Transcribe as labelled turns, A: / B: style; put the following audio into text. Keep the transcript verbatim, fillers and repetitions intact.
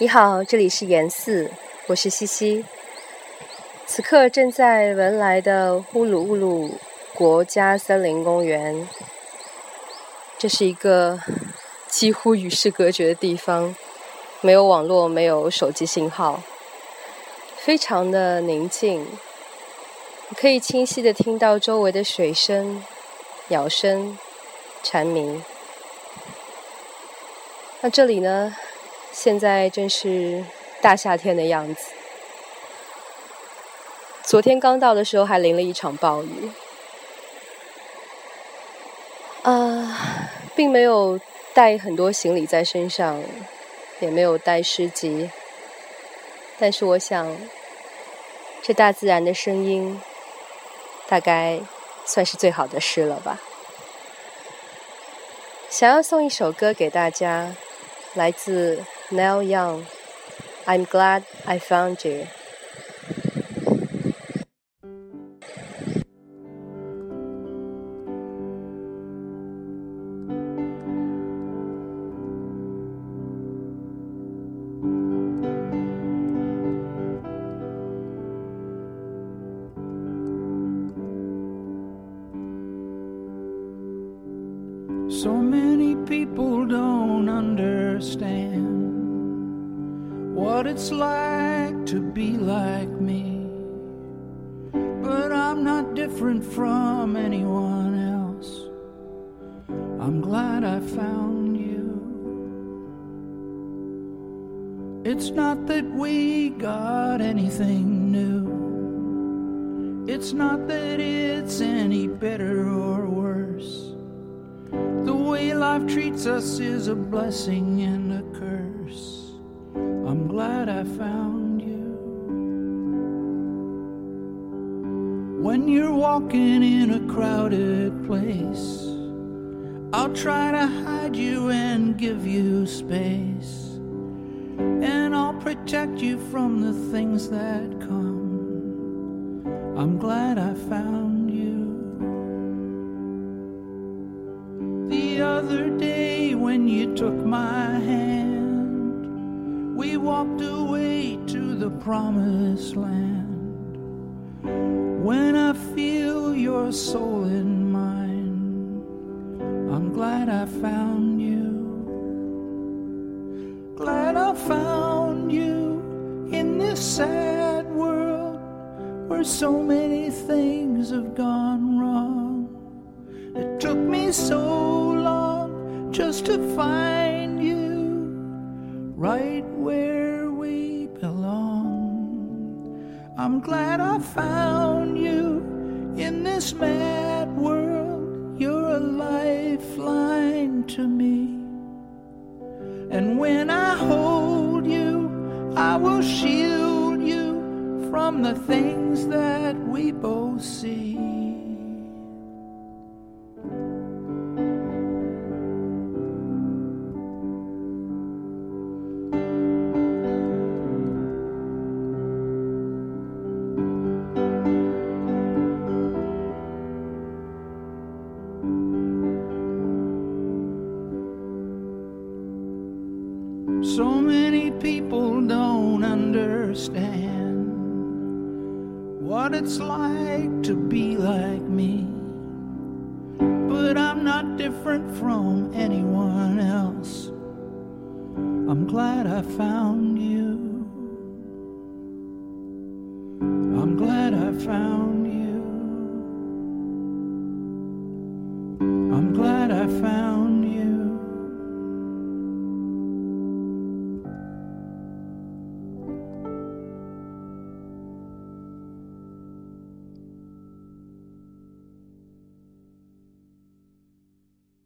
A: 你好，这里是研四，我是西西。此刻正在文莱的乌鲁乌鲁国家森林公园，这是一个几乎与世隔绝的地方，没有网络，没有手机信号，非常的宁静，可以清晰地听到周围的水声、鸟声、蝉鸣。那这里呢，现在正是大夏天的样子。昨天刚到的时候还淋了一场暴雨，呃，并没有带很多行李在身上，也没有带诗集，但是我想，这大自然的声音，大概算是最好的诗了吧。想要送一首歌给大家，来自 Neil Young， I'm glad I found you。
B: So many people don't understand what it's like to be like me, but I'm not different from anyone else. I'm glad I found you. It's not that we got anything new. It's not that it's any better or worse. The way life treats us is a blessing and a curse. I'm glad I found you. When you're walking in a crowded place, I'll try to hide you and give you space, and I'll protect you from the things that come. I'm glad I found you. The other day when you took my hand, we walked away to the promised land. When I feel your soul in mine, I'm glad I found you. Glad I found you in this sad world where so many things have gone wrong. It took me so just to find you right where we belong. I'm glad I found you in this mad world. You're a lifeline to me, and when I hold you, I will shield you from the things that we both see. So many people don't understand what it's like to be like me, but I'm not different from anyone else. I'm glad I found you. I'm glad I found you.